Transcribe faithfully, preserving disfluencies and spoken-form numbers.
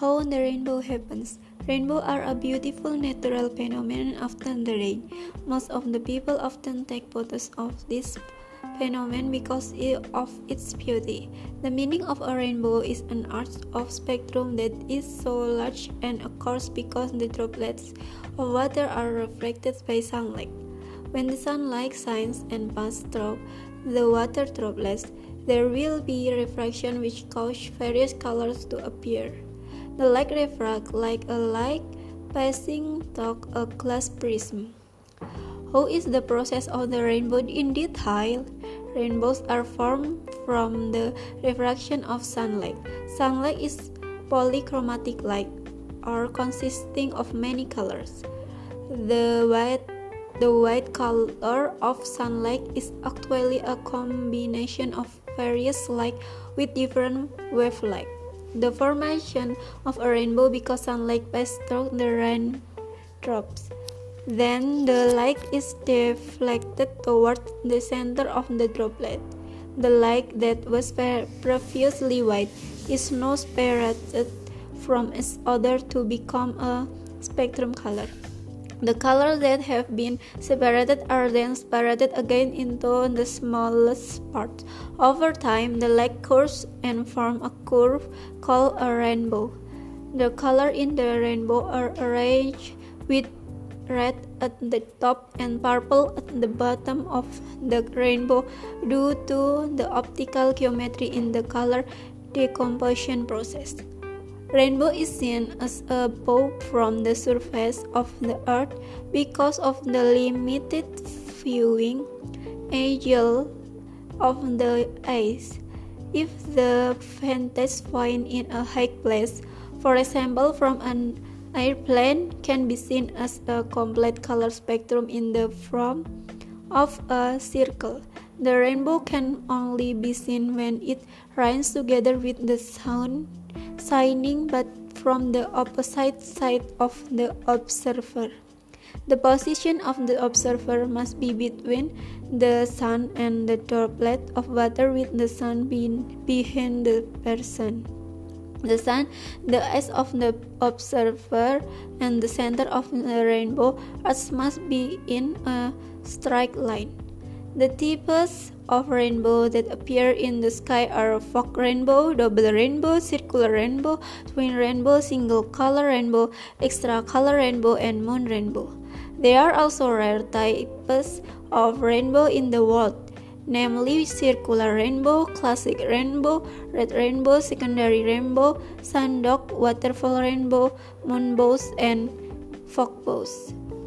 How the rainbow happens. Rainbows are a beautiful natural phenomenon often the rain. Most of the people often take photos of this phenomenon because of its beauty. The meaning of a rainbow is an arc of spectrum that is so large and occurs because the droplets of water are reflected by sunlight. When the sunlight shines and passes through the water droplets, there will be refraction which causes various colors to appear. The light refracts like a light passing through a glass prism. How is the process of the rainbow in detail? Rainbows are formed from the refraction of sunlight. Sunlight is polychromatic light, or consisting of many colors. The white, the white color of sunlight is actually a combination of various light with different wavelengths. The formation of a rainbow because sunlight passes through the raindrops. Then the light is deflected toward the center of the droplet. The light that was previously white is now separated from its other to become a spectrum color. The colors that have been separated are then separated again into the smallest parts. Over time, the light curves and form a curve called a rainbow. The colors in the rainbow are arranged with red at the top and purple at the bottom of the rainbow due to the optical geometry in the color decomposition process. Rainbow is seen as a bow from the surface of the earth because of the limited viewing angle of the eyes. If the vantage point in a high place, for example from an airplane, can be seen as a complete color spectrum in the form of a circle. The rainbow can only be seen when it rains together with the sun shining, but from the opposite side of the observer. The position of the observer must be between the sun and the droplet of water with the sun being behind the person. The sun, the eyes of the observer, and the center of the rainbow arch must be in a straight line. The types of rainbow that appear in the sky are fog rainbow, double rainbow, circular rainbow, twin rainbow, single color rainbow, extra color rainbow, and moon rainbow. There are also rare types of rainbow in the world, namely circular rainbow, classic rainbow, red rainbow, secondary rainbow, sandok, waterfall rainbow, moonbows, and fogbows.